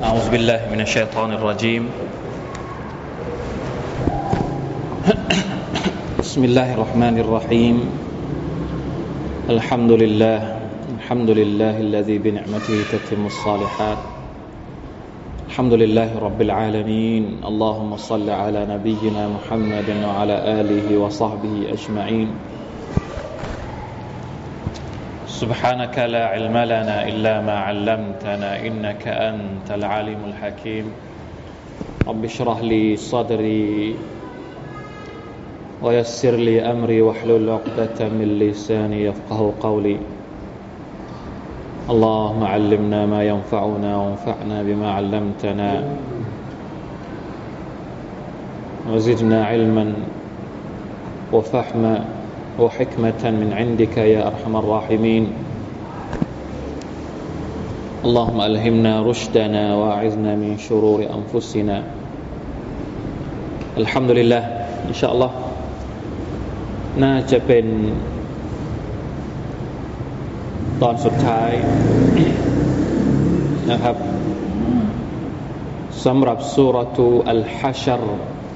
أعوذ بالله من الشيطان الرجيم بسم الله الرحمن الرحيم الحمد لله الذي بنعمته تتم الصالحات الحمد لله رب العالمين اللهم صل على نبينا محمد وعلى آله وصحبه أجمعين سبحانك لا علم لنا إلا ما علمتنا إنك أنت العليم الحكيم رب اشرح لي صدري ويسر لي أمري واحلل عقدة من لساني يفقهوا قولي اللهم علمنا ما ينفعنا وانفعنا بما علمتنا وزدنا علما وفهما وحكمة من عندك يا أرحم الراحمين اللهم ألهمنا رشدنا وأعذنا من شرور أنفسنا الحمد لله إن شاء الله น่าจะเป็นตอนสุดท้ายนะครับสำหรับซูเราะตุอัลฮัชร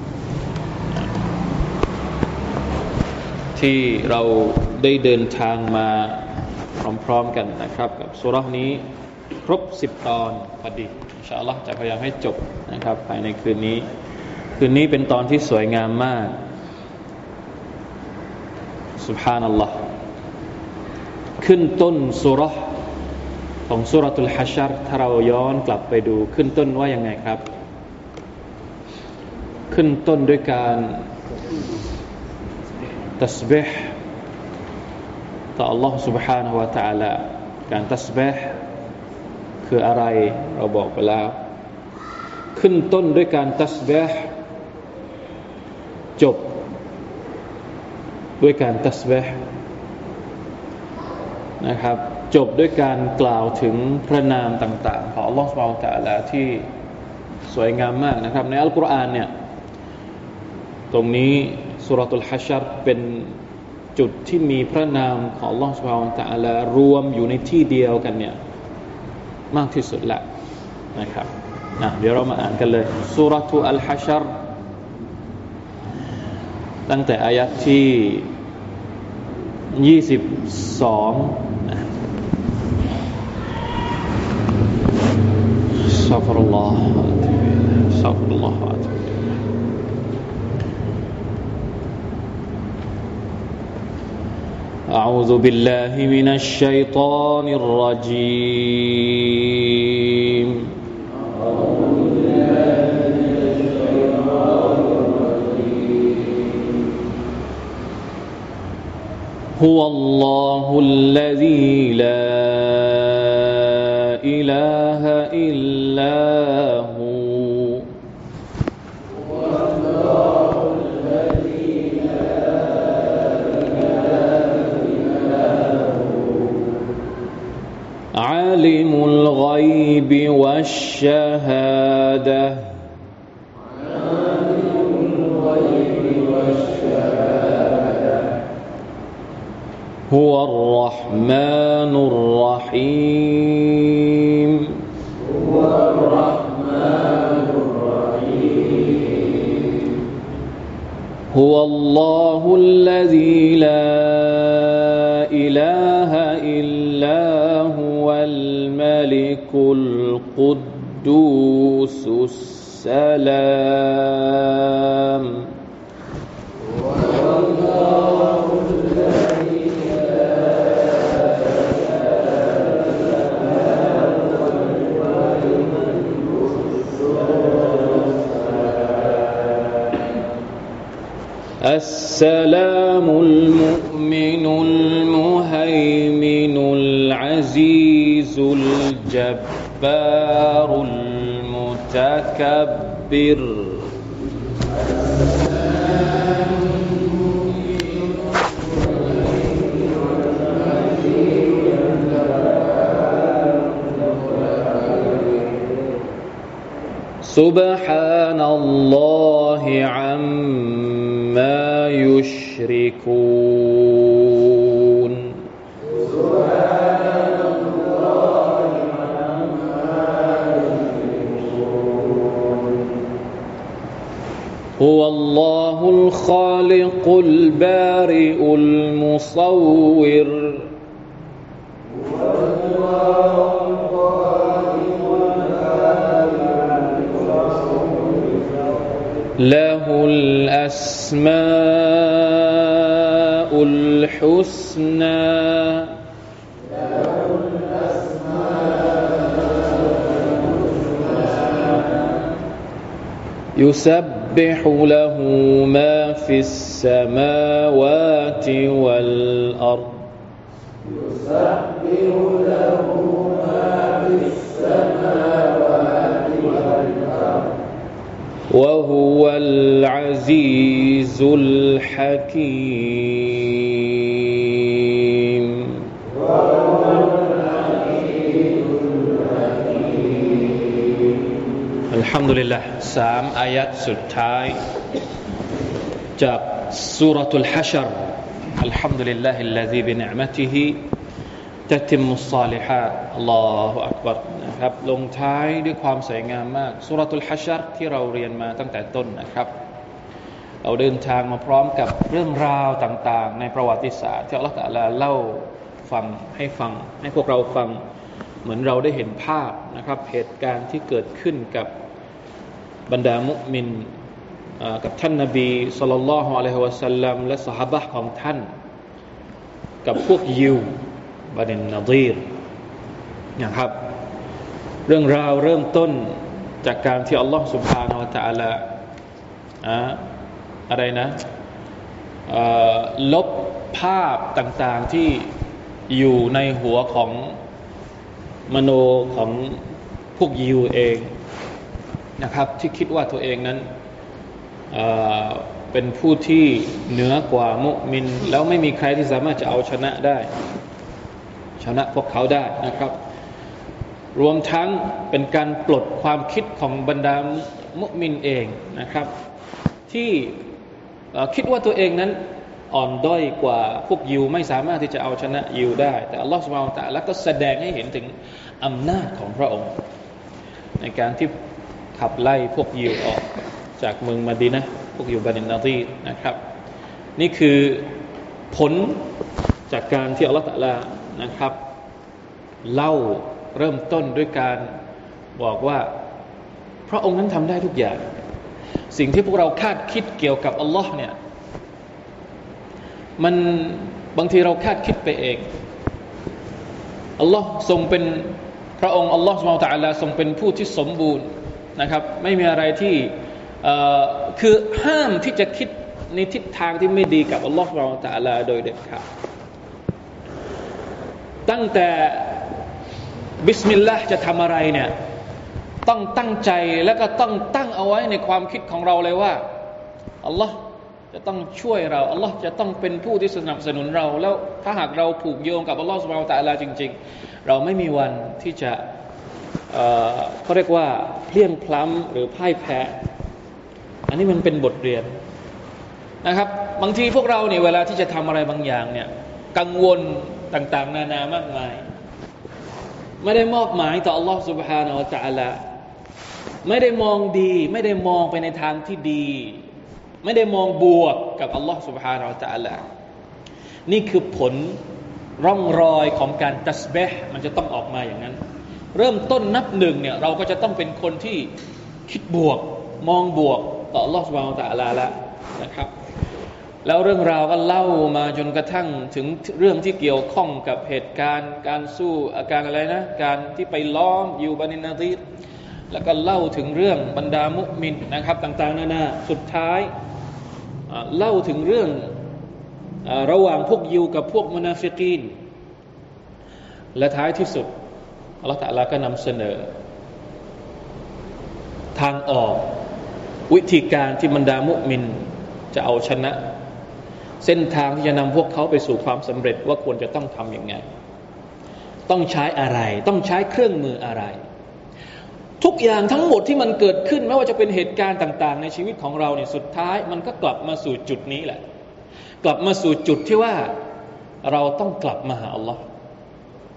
ที่เราได้เดินทางมาพร้อมๆกันนะครับกับซูเราะห์นี้ครบ10ตอนพอดีอินชาอัลเลาะห์จะพยายามให้จบนะครับภายในคืนนี้เป็นตอนที่สวยงามมากซุบฮานัลลอฮ์ขึ้นต้นซูเราะห์ของซูเราะตุลฮัชรถ้าเราย้อนกลับไปดูขึ้นต้นว่ายังไงครับขึ้นต้นด้วยการตัสบีห์ต่อ Allah سبحانه และ تعالى การตัสบีห์คืออะไรเราบอกไปแล้วขึ้นต้นด้วยการตัสบีห์จบด้วยการตัสบีห์นะครับจบด้วยการกล่าวถึงพระนามต่างๆของ Allah سبحانه และ تعالى ที่สวยงามมากนะครับในอัลกุรอานเนี่ยตรงนี้ซูเราะตุลฮัชรเป็นจุดที่มีพระนามของ Allah Subhanahu Wa Taala รวมอยู่ในที่เดียวกันเนี่ยมากที่สุดละนะครับเดี๋ยวเรามาอ่านกันเลยซูเราะตุอัลฮัชรตั้งแต่อายะห์ที่22อัสตัฆฟิรุลลอฮأعوذ بالله من الشيطان الرجيم هو الله الذي لا إله إلا هو عالم الغيب والشهادة هو الرحمن الرحيم هو الله الذي لا إله إلا هو الملك القدوس السلام السلام المؤمن المهيمن العزيز الجبار المتكبر سبحان الله عما يشركون هو الله الخالق البارئ المصور له الأسماء الحسنى يسبح له ما في السماوات والأرض وهو العزيز الحكيم الحمد لله 3 อายัตสุดท้ายจากซูเราะตุลฮัชรอัลฮัมดุลิลลาฮิลลซีบินิอ์มะติฮิตัติมุศศอลิฮาตอัลลอฮุอักบัรนะครับลงท้ายด้วยความสวยงามมากซูเราะตุลฮัชรที่เราเรียนมาตั้งแต่ต้นนะครับเราเดินทางมาพร้อมกับเรื่องราวต่างๆในประวัติศาสตร์ที่อัลเลาะห์ตะอาลาเล่าฟังให้พวกเราฟังเหมือนเราได้เห็นภาพนะครับเหตุการณ์ที่เกิดขึ้นกับบรรดามุมินกับท่านนบีศ็อลลัลลอฮุอะลัยฮิวะซัลลัมและซอฮาบะห์ของท่านกับพวกยิวบันินนะฎีรนะครับเรื่องราวเริ่มต้นจากการที่อัลลอฮฺ سبحانه และ تعالى อะไรนะลบภาพต่างๆที่อยู่ในหัวของมโนของพวกยิวเองนะครับที่คิดว่าตัวเองนั้นเป็นผู้ที่เหนือกว่ามุมินแล้วไม่มีใครที่สามารถจะเอาชนะพวกเขาได้นะครับรวมทั้งเป็นการปลดความคิดของบรรดามุมินเองนะครับที่คิดว่าตัวเองนั้นอ่อนด้อยกว่าพวกยิวไม่สามารถที่จะเอาชนะยิวได้แต่อัลลอฮฺซุบฮานะฮูวะตะอาลาก็แสดงให้เห็นถึงอำนาจของพระองค์ในการที่ขับไล่พวกยิวออกจากเมืองมะดีนะห์พวกยิวบันินนะฎีรนะครับนี่คือผลจากการที่อัลลอฮฺตะอาลานะครับเล่าเริ่มต้นด้วยการบอกว่าพระองค์นั้นทำได้ทุกอย่างสิ่งที่พวกเราคาดคิดเกี่ยวกับอัลลอฮ์เนี่ยมันบางทีเราคาดคิดไปเองอัลลอฮ์ทรงเป็นพระองค์อัลลอฮ์ซุบฮานะฮูวะตะอาลาทรงเป็นผู้ที่สมบูรณ์นะครับไม่มีอะไรที่คือห้ามที่จะคิดในทิศทางที่ไม่ดีกับอัลลอฮ์ซุบฮานะฮูวะตะอาลาโดยเด็ดขาดตั้งแต่บิสมิลลาห์จะทำอะไรเนี่ยต้องตั้งใจแล้วก็ต้องตั้งเอาไว้ในความคิดของเราเลยว่าอัลลอฮ์จะต้องช่วยเราอัลลอฮ์จะต้องเป็นผู้ที่สนับสนุนเราแล้วถ้าหากเราผูกโยงกับอัลลอฮ์ซุบฮานะฮูวะตะอาลาจริงๆเราไม่มีวันที่จะเขาเรียกว่าเพลียงพล้ำหรือพ่ายแพ้อันนี้มันเป็นบทเรียนนะครับบางทีพวกเราเนี่ยเวลาที่จะทำอะไรบางอย่างเนี่ยกังวลต่างๆนานามากมายไม่ได้มอบหมายต่ออัลลอฮฺ سبحانه และ تعالى ไม่ได้มองดีไม่ได้มองไปในทางที่ดีไม่ได้มองบวกกับอัลลอฮฺ سبحانه และ تعالى นี่คือผลร่องรอยของการตัสบีห์มันจะต้องออกมาอย่างนั้นเริ่มต้นนับหนึ่งเนี่ยเราก็จะต้องเป็นคนที่คิดบวกมองบวกต่ออัลลอฮฺ سبحانه และ تعالى แล้วนะครับแล้วเรื่องราวก็เล่ามาจนกระทั่งถึงเรื่องที่เกี่ยวข้องกับเหตุการณ์การสู้อาการอะไรนะการที่ไปล้อมอยู่บันินนะฎีรแล้วก็เล่าถึงเรื่องบรรดามุมินนะครับต่างๆนานาสุดท้ายเล่าถึงเรื่องระหว่างพวกยิวกับพวกมุนาฟิกีนและท้ายที่สุดอัลเลาะห์ตะอาลาก็นำเสนอทางออกวิธีการที่บรรดามุมินจะเอาชนะเส้นทางที่จะนำพวกเขาไปสู่ความสำเร็จว่าควรจะต้องทำอย่างไงต้องใช้อะไรต้องใช้เครื่องมืออะไรทุกอย่างทั้งหมดที่มันเกิดขึ้นไม่ว่าจะเป็นเหตุการณ์ต่างๆในชีวิตของเราเนี่ยสุดท้ายมันก็กลับมาสู่จุดนี้แหละกลับมาสู่จุดที่ว่าเราต้องกลับมาหาอัลลอฮ์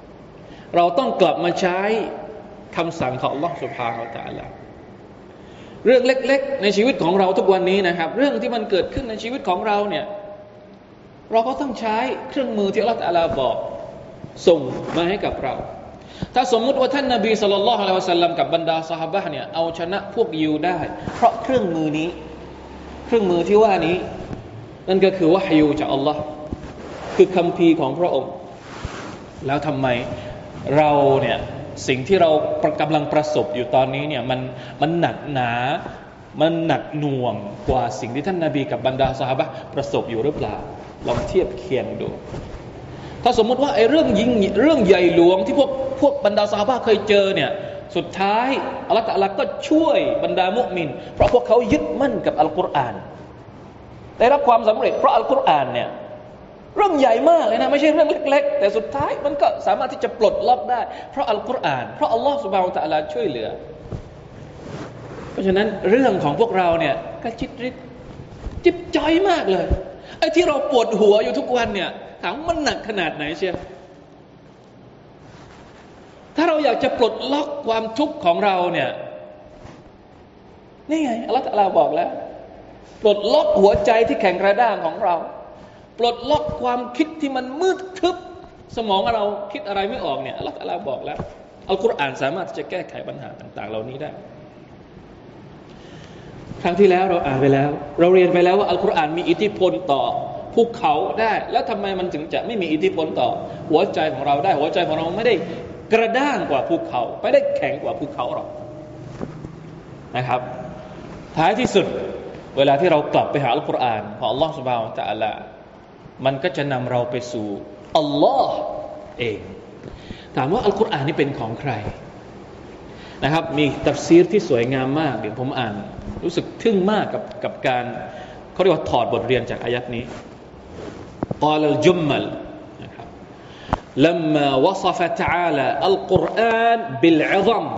เราต้องกลับมาใช้คำสั่งของอัลลอฮ์ سبحانه และ تعالى เรื่องเล็กๆในชีวิตของเราทุกวันนี้นะครับเรื่องที่มันเกิดขึ้นในชีวิตของเราเนี่ยเราก็ต้องใช้เครื่องมือที่อัลเลาะห์ตะอาลาบอกส่งมาให้กับเราถ้าสมมุติว่าท่านนบีศ็อลลัลลอฮุอะลัยฮิวะซัลลัมกับบรรดาซอฮาบะห์เนี่ยเอาชนะพวกยิวได้เพราะเครื่องมือนี้เครื่องมือที่ว่านี้นั่นก็คือวะฮยูจากอัลลอฮ์คือคัมภีร์ของพระองค์แล้วทำไมเราเนี่ยสิ่งที่เรากำลังประสบอยู่ตอนนี้เนี่ยมันหนักหนามันหนักหน่วงกว่าสิ่งที่ท่านนบีกับบรรดาซอฮาบะห์ประสบอยู่หรือเปล่าลองเทียบเคียงดูถ้าสมมติว่าไอ้เรื่องใหญ่หลวงที่พวกบรรดาซอฮาบะห์เคยเจอเนี่ยสุดท้ายอัลเลาะห์ตะอาลาก็ช่วยบรรดามุมินเพราะพวกเขายึดมั่นกับอัลกุรอานได้รับความสำเร็จเพราะอัลกุรอานเนี่ยเรื่องใหญ่มากเลยนะไม่ใช่เรื่องเล็กๆแต่สุดท้ายมันก็สามารถที่จะปลดล็อกได้เพราะอัลกุรอานเพราะอัลลอฮฺซุบฮานะฮูวะตะอาลาช่วยเหลือเพราะฉะนั้นเรื่องของพวกเราเนี่ยก็จิ๊บจ้อยมากเลยไอ้ที่เราปวดหัวอยู่ทุกวันเนี่ยถามมันหนักขนาดไหนเชียวถ้าเราอยากจะปลดล็อกความทุกข์ของเราเนี่ยนี่ไงอัลเลาะห์ตะอาลาบอกแล้วปลดล็อกหัวใจที่แข็งกระด้างของเราปลดล็อกความคิดที่มันมืดทึบสมองเราคิดอะไรไม่ออกเนี่ยอัลเลาะห์ตะอาลาบอกแล้วอัลกุรอานสามารถจะแก้ไขปัญหาต่างๆเหล่านี้ได้ครั้งที่แล้วเราอ่านไปแล้วเราเรียนไปแล้วว่าอัลกุรอานมีอิทธิพลต่อภูเขาได้แล้วทำไมมันถึงจะไม่มีอิทธิพลต่อหัวใจของเราได้หัวใจของเราไม่ได้กระด้างกว่าภูเขาไม่ได้แข็งกว่าภูเขาหรอกนะครับท้ายที่สุดเวลาที่เรากลับไปหาอัลกุรอานของอัลลอฮฺซุบฮานะฮูวะตะอาลามันก็จะนำเราไปสู่อัลลอฮ์เองถามว่าอัลกุรอานนี่เป็นของใครนะครับมีตัฟซีรที่สวยงามมากเดี๋ยวผมอ่านรู้สึกทึ่งมากกับการเขาเรียกว่าถอดบทเรียนจากอายัดนี้กาลจุมมัลนะครับ لما وصف تعالى القرآن بالعظم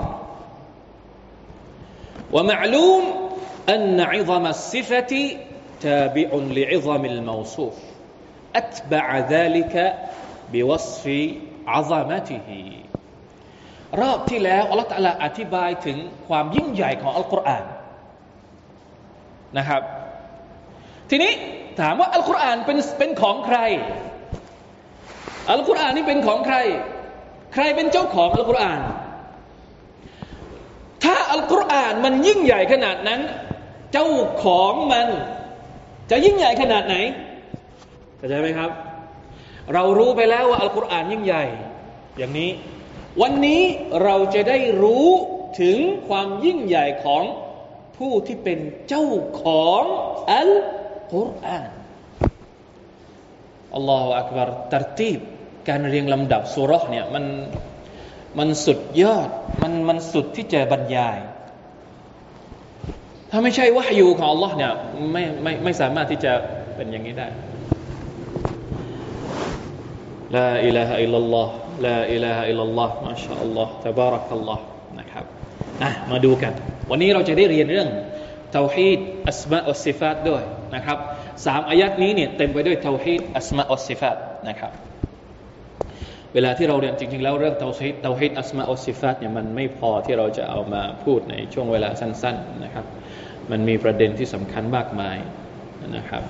ومعلوم أن عظم الصفة تابع لعظم الموصوف أتبع ذلك بوصف عظمته รอบที่แล้วอัลเลาะห์ตะอาลาอธิบายถึงความยิ่งใหญ่ของอัลกุรอานนะครับทีนี้ถามว่าอัลกุรอานเป็นของใครอัลกุรอานนี่เป็นของใครใครเป็นเจ้าของอัลกุรอานถ้าอัลกุรอานมันยิ่งใหญ่ขนาดนั้นเจ้าของมันจะยิ่งใหญ่ขนาดไหนเข้าใจไหมครับเรารู้ไปแล้วว่าอัลกุรอานยิ่งใหญ่อย่างนี้วันนี้เราจะได้รู้ถึงความยิ่งใหญ่ของผู้ที่เป็นเจ้าของอัลกุรอานอัลลอฮฺอักบัรตัรตีบการเรียงลำดับซูเราะห์เนี่ยมันสุดยอดมันสุดที่จะบรรยายถ้าไม่ใช่วะฮยูของอัลลอฮ์เนี่ยไม่สามารถที่จะเป็นอย่างนี้ได้ลาอิลาฮะอิลลัลลอฮ์ลาอิลาฮะอิลลัลลอฮ์มาชาอัลลอฮ์ตะบารักัลลอฮ์นะครับมาดูกันวันนี้เราจะได้เรียนเรื่องเตาฮีดอัสมาอ์วัสซิฟาตด้วยนะครับ3อายัดนี้เนี่ยเต็มไปด้วยเตาฮีดอัสมาอ์วัสซิฟาตนะครับเวลาที่เราเรียนจริงๆแล้วเรื่องเตาฮีดอัสมาอ์วัสซิฟาตเนี่ยมันไม่พอที่เราจะเอามาพูดในช่วงเวลาสั้นๆนะครับมันมีประเด็นที่สำคัญมากมายนะครับ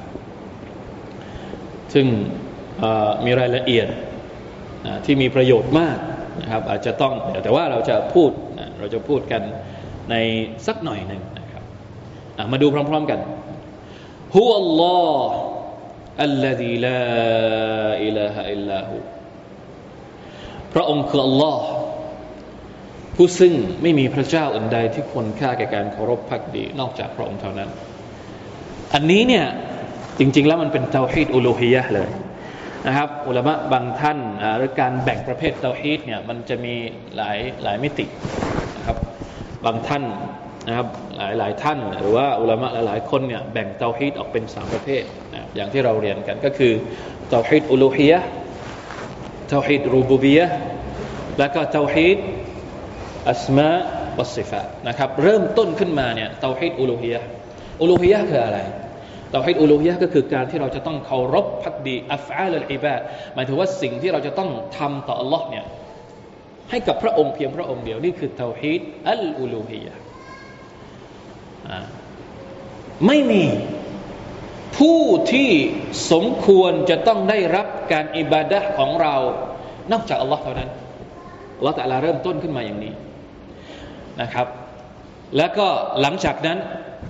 ซึ่งมีรายละเอียดที่มีประโยชน์มากนะครับอาจจะต้องแต่ว่าเราจะพูดกันในสักหน่อยหนึ่งนะครับมาดูพร้อมๆกันฮุวัลลอฮ์อัลลซีลาอิลาฮะอิลลาฮูพระองค์คืออัลลอฮ์ผู้ซึ่งไม่มีพระเจ้าอื่นใดที่ควรค่าแก่การเคารพภักดีนอกจากพระองค์เท่านั้นอันนี้เนี่ยจริงๆแล้วมันเป็นเตาฮีดอูลูฮียะห์เลยนะครับอุลามะบางท่านหรือการแบ่งประเภทเตาฮีดเนี่ยมันจะมีหลายมิตินะครับบางท่านนะครับหลายท่านหรือว่าอุลามะหลายคนเนี่ยแบ่งเตาฮีดออกเป็น3ประเภทนะอย่างที่เราเรียนกันก็คือเตาฮีดอูลูฮียะห์เตาฮีดรูบูบียะห์แล้วก็เตาฮีดอัสมาวัสซิฟาตนะครับเริ่มต้นขึ้นมาเนี่ยเตาฮีดอูลูฮียะห์คืออะไรเตาฮีดอูลูฮียะห์ก็คือการที่เราจะต้องเคารพภักดีอัฟอาลอัลอิบาดหมายถึงว่าสิ่งที่เราจะต้องทำต่ออัลลอฮ์เนี่ยให้กับพระองค์เพียงพระองค์เดียวนี่คือเตาฮีดอัลอูลูฮียะห์ไม่มีผู้ที่สมควรจะต้องได้รับการอิบาดะห์ของเรานอกจากอัลลอฮ์เท่านั้นอัลลอฮ์ตะอาลาเริ่มต้นขึ้นมาอย่างนี้นะครับแล้วก็หลังจากนั้น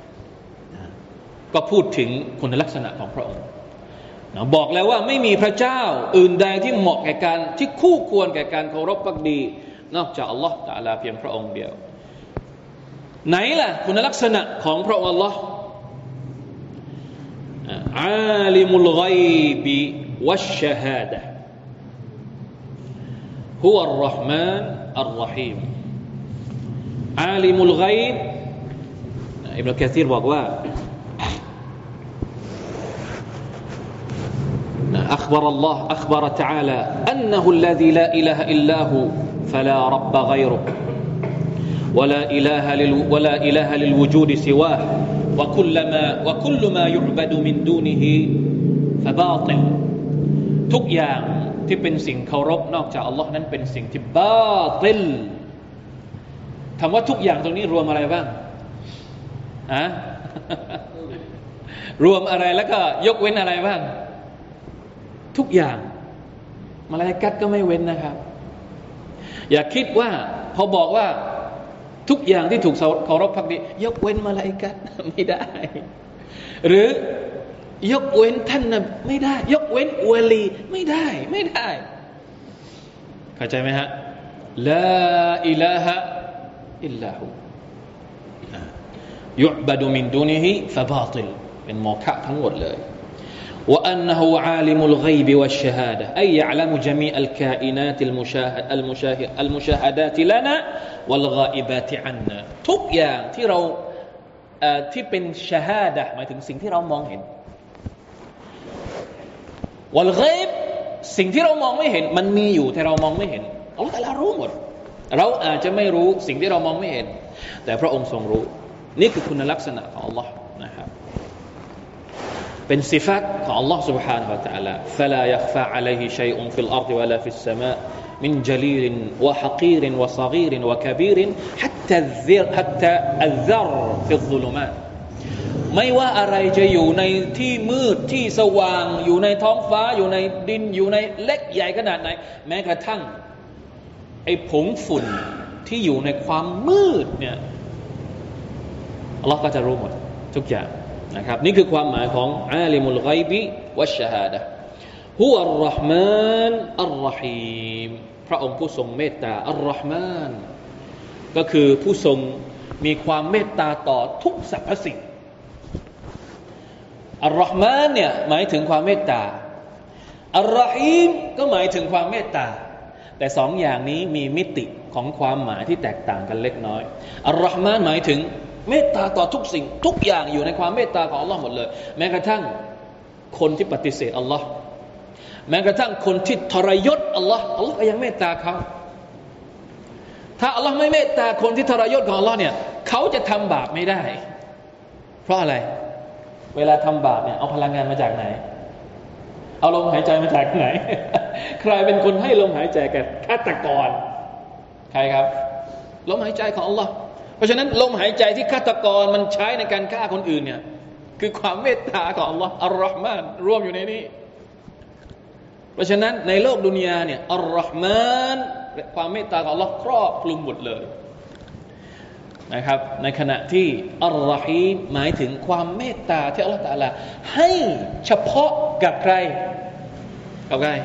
ก็พูดถึงคุณลักษณะของพระองค์บอกแล้วว่าไม่มีพระเจ้าอื่นใดที่เหมาะแก่การที่คู่ควรแก่การเคารพภักดีนอกจากอัลลอฮ์ตะอาลาเพียงพระองค์เดียวไหนล่ะคุณลักษณะของพระองค์อัลลอฮ์อาลิมุลฆอยบิวัชชะฮาดะห์ฮุวัรเราะห์มานอัรเราะฮีมอาลิมุลฆอยบอิบนุกะซีรบอกว่าأخبر تعالى أنه الذي لا إله إلا هو فلا رب غيره ولا إله للوجود سواه وكل ما يعبد من دونه فباطل ทุกอย่างที่เป็นสิ่งเคารพนอกจากอัลลอฮ์นั้นเป็นสิ่งที่บาติลคำว่าทุกอย่างตรงนี้รวมอะไรบ้างรวมอะไรแล้วก็ยกเว้นอะไรบ้างทุกอย่างมลาอิกะฮ์ก็ไม่เว้นนะครับอย่าคิดว่าพอบอกว่าทุกอย่างที่ถูกเคารพภักดียกเว้นมลาอิกะฮ์ไม่ได้หรือยกเว้นท่านนบีไม่ได้ยกเว้นวะลีไม่ได้เข้าใจไหมฮะลาอิลาฮะอิลลาฮูยุอ์บะดุมินดูนิฮิฟะบาติลเป็นโมฆะทั้งหมดเลยوأنه عالم الغيب والشهادة أي يعلم جميع الكائنات المشاهدات لنا والغائبات عنا ทุกอย่างที่เราที่เป็นชะฮาดะห์หมายถึงสิ่งที่เรามองเห็นวัลฆอยบสิ่งที่เรามองไม่เห็นมันมีอยู่แต่เรามองไม่เห็นอัลเลาะห์ตะอาลารู้หมดเราอาจจะไม่รู้สิ่งที่เรามองไม่เห็นแต่พระองค์ทรงรู้นี่คือคุณลักษณะของอัลเลาะห์นะครับเป็นสิฟัตของ Allah سبحانه และ تعالى فلا يخفى عليه شيء في الأرض ولا في السماء من جليل وحقير وصغير وكبير حتى الذر في الظلمات ไม่ว่าอะไรจะอยู่ในที่มืดที่สว่างอยู่ในท้องฟ้าอยู่ในดินอยู่ในเล็กใหญ่ขนาดไหนแม้กระทั่งไอ้ผงฝุ่นที่อยู่ในความมืดเนี่ย Allah ก็จะรู้หมดทุกอย่างนะครับนี่คือความหมายของอาลิมุลฆอยบิวัชชะฮาดะห์ฮุวัรเราะห์มานอัรเราะฮีมพระองค์ผู้ทรงเมตตาอัรเราะห์มานก็คือผู้ทรงมีความเมตตาต่อทุกสรรพสิ่งอัรเราะห์มานเนี่ยหมายถึงความเมตตาอัรเราะฮีมก็หมายถึงความเมตตาแต่สองอย่างนี้มีมิติของความหมายที่แตกต่างกันเล็กน้อยอัรเราะห์มานหมายถึงเมตตาต่อทุกสิ่งทุกอย่างอยู่ในความเมตตาของอัลลอฮ์หมดเลยแม้กระทั่งคนที่ปฏิเสธอัลลอฮ์แม้กระทั่งคนที่ทรยศอัลลอฮ์ก็ยังเมตตาเขาถ้าอัลลอฮ์ไม่เมตตาคนที่ทรยศของอัลลอฮ์เนี่ยเขาจะทำบาปไม่ได้เพราะอะไรเวลาทำบาปเนี่ยเอาพลังงานมาจากไหนเอาลมหายใจมาจากไหน ใครเป็นคนให้ลมหายใจแก่ฆาตกรใครครับลมหายใจของอัลลอฮ์เพราะฉะนั้นลมหายใจที่ฆาตกรมันใช้ในการฆ่าคนอื่นเนี่ยคือความเมตตาของอัลลอฮ์อัลเราะห์มานรวมอยู่ในนี้เพราะฉะนั้นในโลกดุนยาเนี่ยอัลเราะห์มานความเมตตาของอัลลอฮ์ครอบคลุมหมดเลยนะครับในขณะที่อัลเราะฮีมหมายถึงความเมตตาที่อัลลอฮ์ตะอาลาให้เฉพาะกับใครกับใคร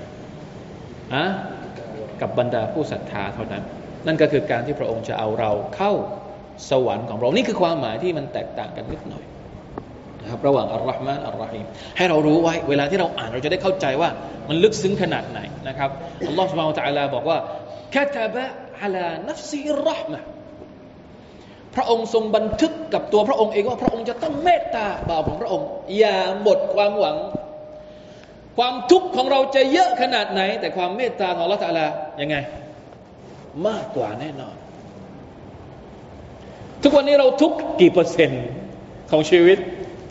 กับบรรดาผู้ศรัทธาเท่านั้นนั่นก็คือการที่พระองค์จะเอาเราเข้าสวรรค์ของเรานี่คือความหมายที่มันแตกต่างกันนิดหน่อยนะครับระหว่างอัลเราะห์มานอัลเราะฮีมให้เรารู้ไว้เวลาที่เราอ่านเราจะได้เข้าใจว่ามันลึกซึ้งขนาดไหนนะครับอัลลอฮฺซุบฮานะฮูวะตะอาลาบอกว่าคาตะบะอะลานัฟซิฮิรเราะห์มะห์พระองค์ทรงบันทึกกับตัวพระองค์เองว่าพระองค์จะต้องเมตตาบ่าวของพระองค์อย่าหมดความหวังความทุกข์ของเราจะเยอะขนาดไหนแต่ความเมตตาของอัลเลาะห์ตะอาลายังไงมากกว่าแน่นอนทุกวันนี้เราทุกกี่เปอร์เซ็นต์ของชีวิต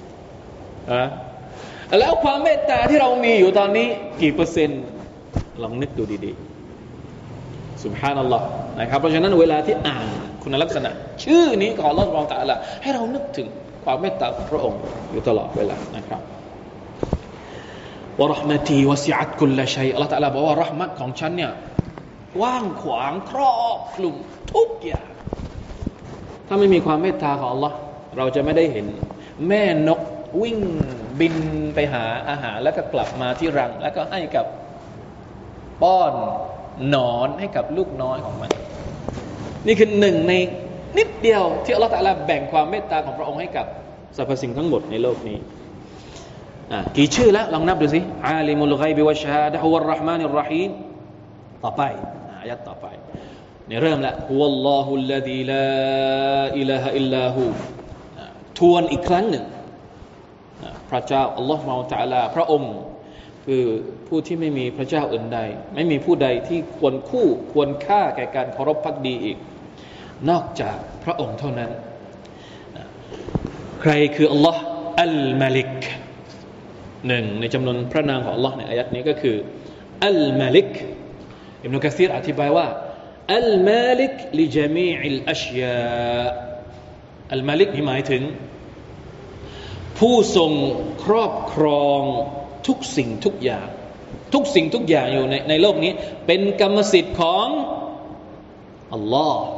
แล้วความเมตตาที่เรามีอยู่ตอนนี้กี่เปอร์เซ็นต์ลองนึกดูดีๆซุบฮานัลลอฮ์นะครับเพราะฉะนั้นเวลาที่อ่านคุณลักษณะชื่อนี้ของอัลเลาะห์ซุบฮานะฮูวะตะอาลาให้เรานึกถึงความเมตตาของพระองค์อยู่ตลอดเวลานะครับวะเราะห์มะตีวะซิอะตกุลชัยอัลเลาะห์ตะอาลาบอกว่าเราะห์มะตของฉันเนี่ยกว้างขวางครอบคลุมทุกอย่างถ้าไม่มีความเมตตาของอัลเลาะห์เราจะไม่ได้เห็นแม่นกวิ่งบินไปหาอาหารแล้วก็กลับมาที่รังแล้วก็ให้กับป้อนหนอนให้กับลูกน้อยของมันนี่คือหนึ่งในนิดเดียวที่อัลเลาะห์ตะอาลาแบ่งความเมตตาของพระองค์ให้กับสรรพสิ่งทั้งหมดในโลกนี้กี่ชื่อแล้วลองนับดูสิอาลิมุลฆอยบิวัชชะฮาดะฮุวัรเราะห์มานิรเราะฮีมต่อไปอายะห์ต่อไปเนี่ยเริ่มแล้วฮุวัลลอฮุลลซีลาอิลาฮะอิลลาฮูทวนอีกครั้งหนึ่งพระเจ้าอัลลอฮฺซุบฮานะฮูวะตะอาลาพระองค์คือผู้ที่ไม่มีพระเจ้าอื่นใดไม่มีผู้ใดที่ควรคู่ควรค่าแก่การเคารพภักดีอีกนอกจากพระองค์เท่านั้นใครคืออัลลอฮฺอัลมาลิกหนึ่งในจำนวนพระนามของอัลลอฮฺในอายัดนี้ก็คืออัลมาลิกอิบนุกะซีรอธิบายว่าอัลมาลิกลิญะมีอิลอัชยาอัลมาลิกนี่หมายถึงผู้ทรงครอบครองทุกสิ่งทุกอย่างทุกสิ่งทุกอย่างอยู่ในโลกนี้เป็นกรรมสิทธิ์ของอัลลอฮ์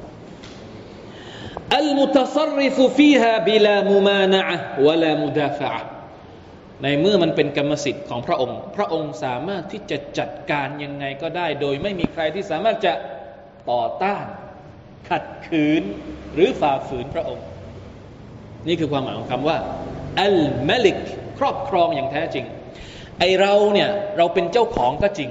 อัลมุตัศริฟุฟีฮาบิลามุมานะอะห์วะลามุดาฟะอะห์ในเมื่อมันเป็นกรรมสิทธิ์ของพระองค์พระองค์สามารถที่จะจัดการยังไงก็ได้โดยไม่มีใครที่สามารถจะต่อต้านขัดขืนหรือฝ่าฝืนพระองค์นี่คือความหมายของคำว่าอัลมาลิกครอบครองอย่างแท้จริงไอเราเนี่ยเราเป็นเจ้าของก็จริง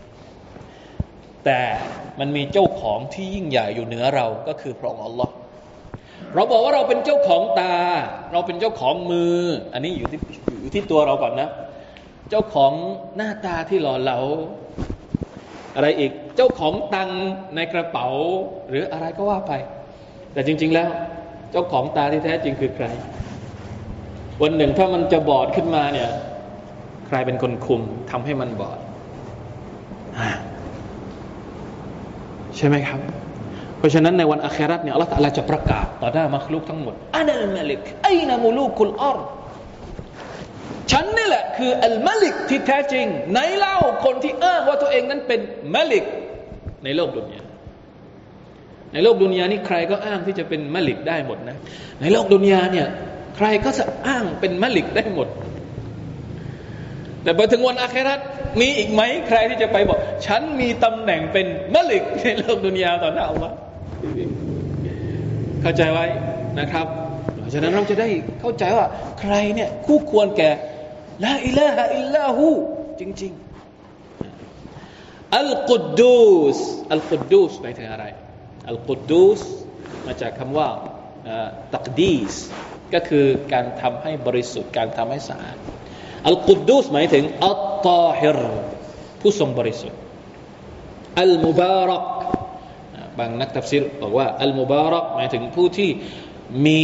แต่มันมีเจ้าของที่ยิ่งใหญ่อยู่เหนือเราก็คือพระองค์อัลลอฮ์เราบอกว่าเราเป็นเจ้าของตาเราเป็นเจ้าของมืออันนี้อยู่ที่ตัวเราก่อนนะเจ้าของหน้าตาที่หล่อเหลาอะไรอีกเจ้าของตังในกระเป๋าหรืออะไรก็ว่าไปแต่จริงๆแล้วเจ้าของตาที่แท้จริงคือใครวันหนึ่งถ้ามันจะบอดขึ้นมาเนี่ยใครเป็นคนคุมทำให้มันบอดใช่ไหมครับเพราะฉะนั้นในวันอาคิเราะห์เนี่ยอัลเลาะห์ตะอาลาจะประกาศต่อหน้ามัคลุกทั้งหมดอะนัลมาลิกอัยนะมุลูกุลอัรฎ์ฉันนี่แหละคืออัลมาลิกที่แท้จริงไหนเล่าคนที่อ้างว่าตัวเองนั้นเป็นมาลิกในโลกดุนยาในโลกดุนยานี่ใครก็อ้างที่จะเป็นมาลิกได้หมดนะในโลกดุนยาเนี่ยใครก็จะอ้างเป็นมาลิกได้หมดแต่พอถึงวันอาคิเราะห์มีอีกไหมใครที่จะไปบอกฉันมีตำแหน่งเป็นมาลิกในโลกดุนยาต่อหน้าอัลลอฮ์เข้าใจไว้นะครับฉะนั้นเราจะได้เข้าใจว่าใครเนี่ยคู่ควรแก่ลาอิลาฮะอิลลาฮูจริงๆอัลกุดดูสอัลกุดดูสหมายถึงอะไรอัลกุดดูสมาจากคำว่าตักดีสก็คือการทำให้บริสุทธิ์การทำให้สะอาดอัลกุดดูสหมายถึงอัตตาฮิรผู้ทรงบริสุทธิ์อัลมุบารักบางนักตัฟซีรบอกว่าอัลมุบารักหมายถึงผู้ที่มี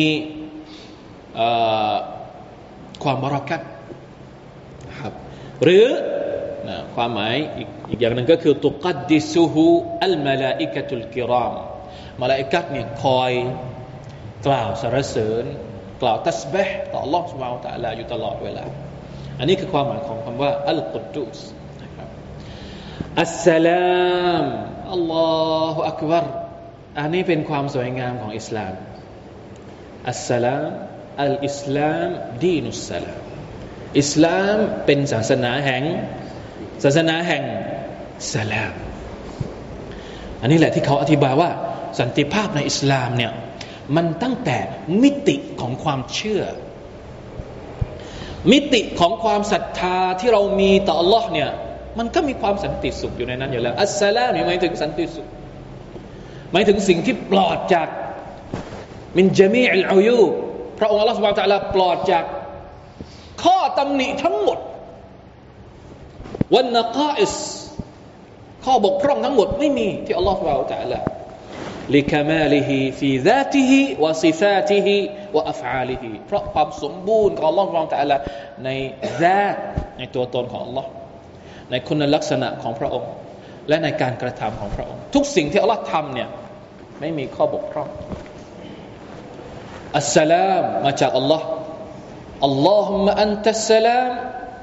ความบารักัตครับหรือความหมายอีกอย่างหนึ่งก็คือตุกัดดิซุฮูอัลมะลาอิกะตุลกิรามมะลาอิกะฮ์เนี่ยคอยกล่าวสรรเสริญกล่าวตัสบีฮ์ต่อ Allah Subhanahu Wa Taala อยู่ตลอดเวลาอันนี้คือความหมายของคำว่าอัลกุดดุสนะครับอัสสลามอัลลอฮุอักบัรอันนี้เป็นความสวยงามของอิสลามอัสสลามอัลอิสลามดีนุสสลามอิสลามเป็นศาสนาแห่งสลามอันนี้แหละที่เขาอธิบายว่าสันติภาพในอิสลามเนี่ยมันตั้งแต่มิติของความเชื่อมิติของความศรัทธาที่เรามีต่อ Allah เนี่ยมันก็มีความสันติสุขอยู่ในนั้นอยู่แล้วอัสสลามหมายถึงสันติสุขหมายถึงสิ่งที่ปลอดจากมินญะมีอิลอุยูบพระองค์ Allah Subhanahu Wa Taala ปลอดจากข้อตำหนิทั้งหมดวันนะกาอิสข้อบกพร่องทั้งหมดไม่มีที่ Allah Subhanahu Wa Taala لكماله في ذاته وصفاته وأفعاله เพราะความสมบูรณ์ของ Allah Subhanahu Wa Taala ในذاتในตัวตนของ Allah ในคุณลักษณะของพระองค์และในการกระทำของพระองค์ทุกสิ่งที่ Allah ทำเนี่ยไม่มีข้อบกพร่องอัสสลามมาจากอัลลอฮ์อัลลอฮุมะอันตัสสลาม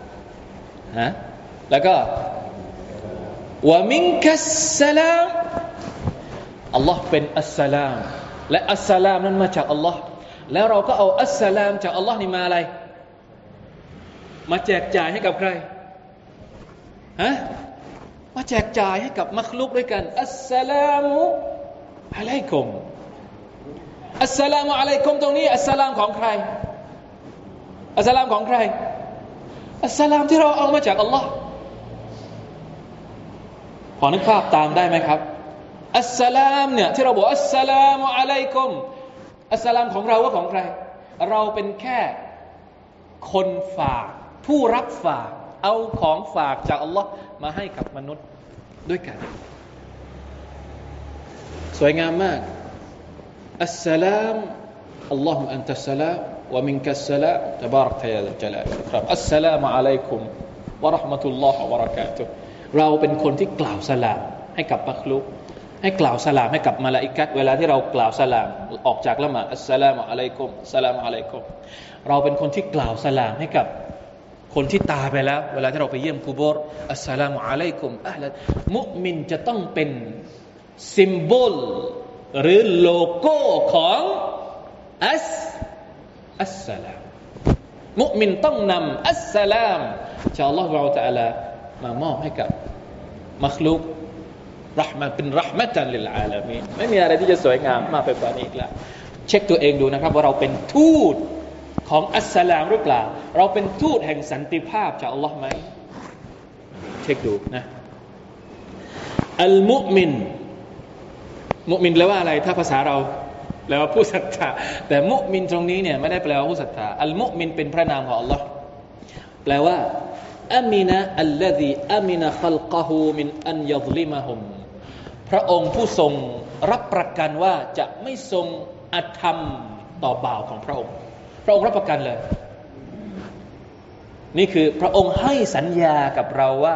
แล้วก็วะมินกัสสลามอัลลอฮ์เป็นอัสสลามและอัสสลามนั้นมาจากอัลลอฮ์แล้วเราก็เอาอัสสลามจากอัลลอฮ์นี่มาอะไรมาแจกจ่ายให้กับใครมาแจกจ่ายให้กับมัคลุกด้วยกันอัสสลามุอะลัยกุมอัสสลามุอะลัยกุมตรงนี้อัสสลามของใครอัสสลามของใครอัสสลามที่เราเอามาจากอัลลอฮ์พอนึกภาพตามได้ไหมครับอัสสลามเนี่ยที่เราบอกอัสสลามุอะลัยกุมอัสสลามของเราว่าของใครเราเป็นแค่คนฝากผู้รับฝากเอาของฝากจากอัลลอฮ์มาให้กับมนุษย์ด้วยกันสวยงามมากอัสสลามอัลลอฮุอันตัสสลามวะมินกัสสลามตะบารักตะยาซัลจลาลครับอัสสลามุอะลัยกุมวะเราะห์มะตุลลอฮ์วะบะเราะกาตุฮ์เราเป็นคนที่กล่าวสลามให้กับมัคลุกให้กล่าวสลามให้กับมลาอิกะฮ์เวลาที่เรากล่าวสลามออกจากละหมาดอัสสลามุอะลัยกุมอัสสลามุอะลัยกุมเราเป็นคนที่กล่าวสลามให้กับคนที่ตายไปแล้วเวลาที่เราไปเยี่ยมกุโบร์อัสสลามุอะลัยกุมอะห์ลันมุมินจะต้องเป็นซิมโบลหรือโลโก้ของอัสสลามมุมินต้องนำอัสสลามจากอัลลอฮฺซุบฮานะฮูวะตะอาลามามอบให้กับมัคลุกเราะห์มะเป็นเราะห์มะตันลิลอาลามีนไม่มีอะไรที่จะสวยงามมากไปกว่านี้อีกแล้วเช็คตัวเองดูนะครับว่าเราเป็นทูตของอัสสลามหรือเปล่าเราเป็นทูตแห่งสันติภาพจากอัลลอฮ์ไหมเช็คดูนะอัลมุมินมุมินแปลว่าอะไรถ้าภาษาเราแปลว่าผู้ศรัทธาแต่มุมินตรงนี้เนี่ยไม่ได้แปลว่าผู้ศรัทธาอัลมุมินเป็นพระนามของอัลลอฮ์แปลว่าอามินะอัลลซีอามินะคัลกะฮูมินอันยัซลิมะฮุมพระองค์ผู้ทรงรับประกันว่าจะไม่ทรงอธรรมต่อบ่าวของพระองค์พระองค์รับประกันเลยนี่คือพระองค์ให้สัญญากับเราว่า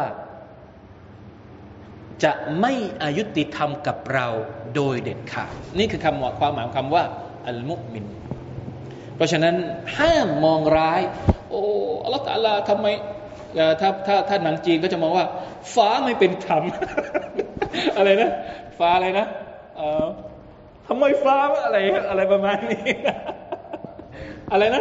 จะไม่อายุติธรรมกับเราโดยเด็ดขาดนี่คือความหมายของคำว่าอัลมุมินเพราะฉะนั้นห้ามมองร้ายโอ้อัลเลาะห์ตะอาลาทำไมถ้าหนังจีนก็จะมองว่าฟ้าไม่เป็นธรรม อะไรนะฟ้าอะไรนะทำไมฟ้าอะไรประมาณนี้ อะไรนะ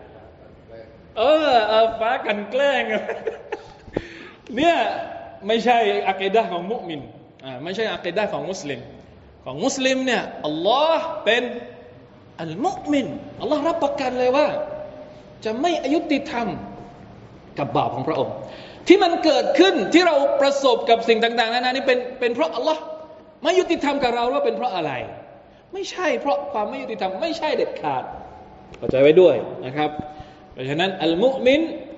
ฟ้ากันแกล้ง เนี่ยไม่ใช่อะกีดะห์ของมุมินไม่ใช่อะกีดะห์ของมุสลิมของมุสลิมเนี่ยอัลลอฮ์เป็นอัลมุมินอัลลอฮ์รับประกันเลยว่าจะไม่อายุติธรรมกับบ่าวของพระองค์ที่มันเกิดขึ้นที่เราประสบกับสิ่งต่างๆนานานี้เป็นเพราะอัลลอฮ์ไม่ยุติธรรมกับเราว่าเป็นเพราะอะไรไม่ใช่เพราะความไม่ยุติธรรมไม่ใช่เด็ดขาดเข้าใจไว้ด้วยนะครับเพราะฉะนั้นอัลมุมิน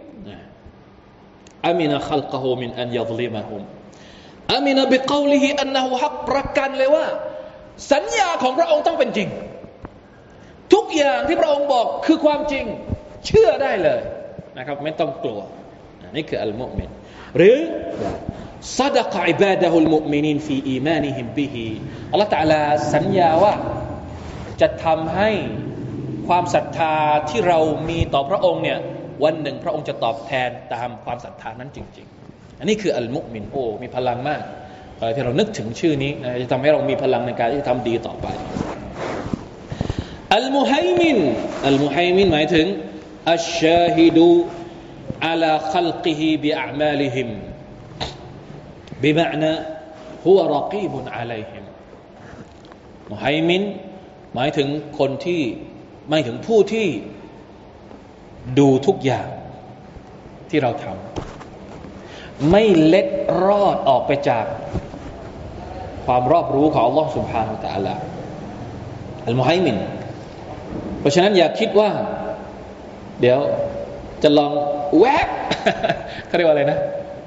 อามินะคัลกะฮูมินอันยัซลิมะฮุมอามินะบิกอลิฮิอันนะฮูฮักประกันเลยว่าสัญญาของพระองค์ต้องเป็นจริงทุกอย่างที่พระองค์บอกคือความจริงเชื่อได้เลยนะครับไม่ต้องกลัวนี่คืออัลมุมินหรือซะดะกะอิบาดะฮุลมุมินีนฟีอีมานิฮิมบิฮิอัลเลาะห์ตะอาลาสัญญาว่าจะทำให้ความศรัทธาที่เรามีต่อพระองค์เนี่ยวันหนึ่งพระองค์จะตอบแทนตามความศรัทธานั้นจริงๆอันนี้คืออัลมุมินโอ้มีพลังมากอะไรที่เรานึกถึงชื่อนี้นะจะทำให้เรามีพลังในการที่จะทำดีต่อไปอัลมุฮัยมินหมายถึงอัชชาฮิดูอะลาคัลกิฮิบิอามาลิฮิมบิมะนะฮุวะรอกีบุนอะลัยฮิมมุฮัยมินหมายถึงคนที่หมายถึงผู้ที่ดูทุกอย่างที่เราทำไม่เล็ดรอดออกไปจากความรอบรู้ของอัลลอฮฺ سبحانه และ تعالى อัลมุฮัยมินเพราะฉะนั้นอย่าคิดว่าเดี๋ยวจะลองแวบ เขาเรียกว่าอะไรนะ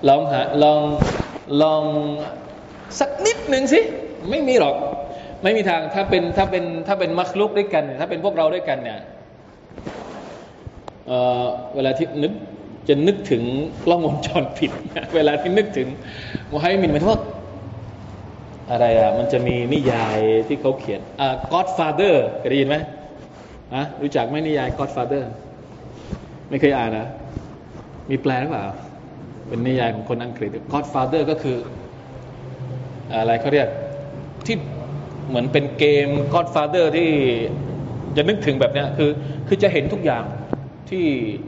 ลองสักนิดหนึ่งสิไม่มีหรอกไม่มีทางถ้าเป็นมัคลุกด้วยกันถ้าเป็นพวกเราด้วยกันเนี่ยเวลาที่นึกถึงกล้องวงจรปิดเวลาที่นึกถึงมุฮัยมินหมายถึงว่าอะไรมันจะมีนิยายที่เขาเขียนGodfather เคยได้ยินไหมรู้จักไหมนิยาย Godfather ไม่เคยอ่านนะมีแปลหรือเปล่าเป็นนิยายของคนอังกฤษ Godfather ก็คืออะไรเขาเรียกที่เหมือนเป็นเกม Godfather ที่จะนึกถึงแบบนี้คือจะเห็นทุกอย่างที่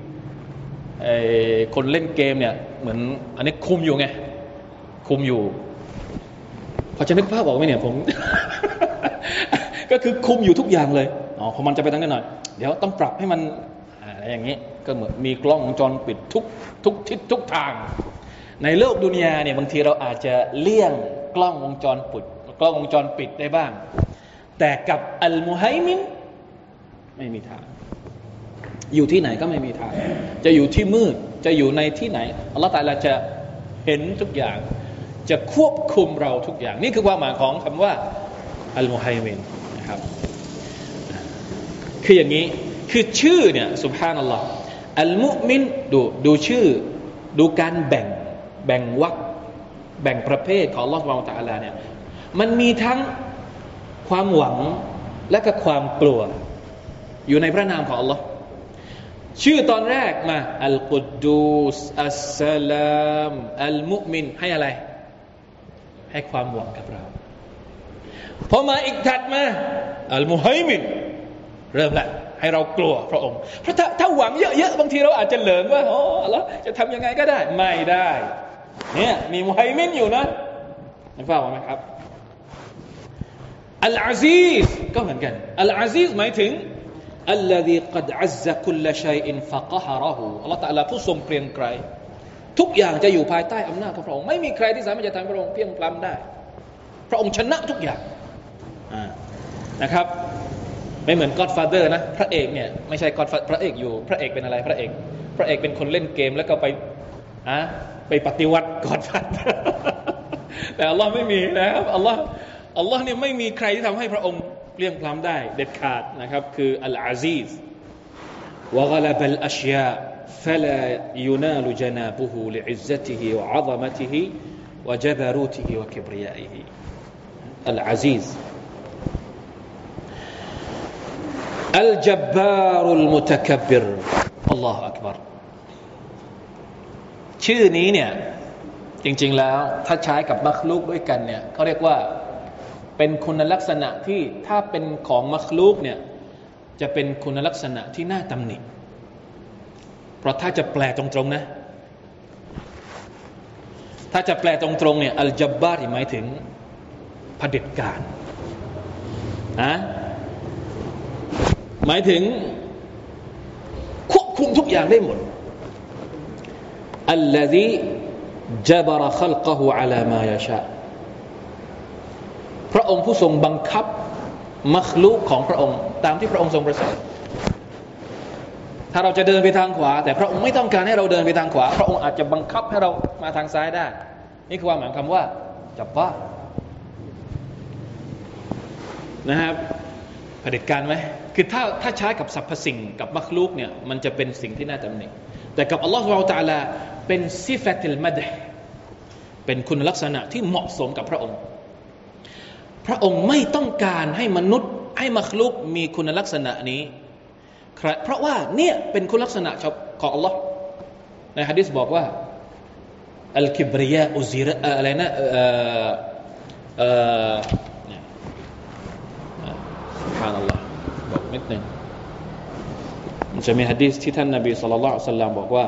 คนเล่นเกมเนี่ยเหมือนอันนี้คุมอยู่ไงคุมอยู่พอจะนึกภาพออกไหมเนี่ยผม ก็คือคุมอยู่ทุกอย่างเลยพอมันจะไปทางนั้นหน่อยเดี๋ยวต้องปรับให้มันอะไรอย่างนี้ก็เหมือนมีกล้องวงจรปิดทุกทิศทุกทางในโลกดุนยาเนี่ยบางทีเราอาจจะเลี่ยงกล้องวงจรปิดได้บ้างแต่กับอัลมุฮัยมินไม่มีทางอยู่ที่ไหนก็ไม่มีทางจะอยู่ที่มืดจะอยู่ในที่ไหนอัลเลาะห์ตะอาลาจะเห็นทุกอย่างจะควบคุมเราทุกอย่างนี่คือความหมายของคำว่าอัลมุฮัยมินนะครับคืออย่างนี้คือชื่อเนี่ยซุบฮานัลลอฮ์อัลมุมินดูชื่อดูการแบ่งวรรคแบ่งประเภทของอัลเลาะห์ซุบฮานะฮูวะตะอาลาเนี่ยมันมีทั้งความหวังและก็ความกลัวอยู่ในพระนามของอัลเลาะห์ชื่อตอนแรกมาอัลกุดดูสอัสสลามอัลมุมินให้อะไรให้ความหวังกับเราพอมาอีกถัดมาอัลมุฮัยมินเริ่มละให้เรากลัวพระองค์เพราะถ้าหวังเยอะๆบางทีเราอาจจะเหลิงว่าอัลเลาะห์จะทำยังไงก็ได้ไม่ได้เนี่ยมีมุฮัยมินอยู่นะนึกภาพออกไหมครับอัลอาซีซก็เหมือนกันอัลอาซีซหมายถึงอัลลซีกัดอัซซะคุลชัยอินฟะกะฮะเราะฮูอัลเลาะห์ตะอาลาผู้ทรงเกรียงไกรทุกอย่างจะอยู่ภายใต้อำนาจของพระองค์ไม่มีใครที่สามารถจะทำให้พระองค์เพียงพล้ำได้พระองค์ชนะทุกอย่างนะครับไม่เหมือน Godfather นะพระเอกเนี่ยไม่ใช่ Godfather พระเอกอยู่พระเอกเป็นอะไรพระเอกเป็นคนเล่นเกมแล้วก็ไปปฏิวัติ Godfather แต่อัลเลาะห์ไม่มีนะครับอัลเลาะห์เนี่ยไม่มีใครที่ทำให้พระองค์เปลี่ยงพล้ำได้เด็ดขาดนะครับคืออัลอาซีซวะฆะละบัลอัชยาفلا ينال جنابه لعزته وعظمته وجبروته وكبريائه العزيز الجبار المتكبر الله أكبر ชื่อนี้เนี่ยจริงๆแล้วถ้าใช้กับมัคลุกด้วยกันเนี่ยเขาเรียกว่าเป็นคุณลักษณะที่ถ้าเป็นของมัคลุกเนี่ยจะเป็นคุณลักษณะที่น่าตำหนิเพราะถ้าจะแปลตรงๆนะถ้าจะแปลตรงๆเนี่ยอัลจับบาร์หมายถึงเผด็จการหมายถึงควบคุมทุกอย่างได้หมดอัลลซีจับรขัลกะฮูอะลามายะชาพระองค์ผู้ทรงบังคับมัคลุกของพระองค์ตามที่พระองค์ทรงประสงค์ถ้าเราจะเดินไปทางขวาแต่พระองค์ไม่ต้องการให้เราเดินไปทางขวาพระองค์อาจจะบังคับให้เรามาทางซ้ายได้นี่คือความหมายคำว่าจับบาร์นะครับเผด็จการไหมคือถ้าใช้กับสรรพสิ่งกับมัคลุกเนี่ยมันจะเป็นสิ่งที่น่าตำหนิแต่กับอัลลอฮฺซุบฮานะฮูวะตะอาลาเป็นซิฟะตุลมัดฮ์เป็นคุณลักษณะที่เหมาะสมกับพระองค์พระองค์ไม่ต้องการให้มนุษย์ให้มัคลุกมีคุณลักษณะนี้เพราะว่าเนี่ยเป็นคุณลักษณะของอัลลอฮ์ในหะดีษบอกว่าอัลกิบริยาอุซิระอะไรนะسبحان الله บอกนิดนึงมันจะมีหะดีษที่ท่านนบีศ็อลลัลลอฮุอะลัยฮิวะซัลลัมบอกว่า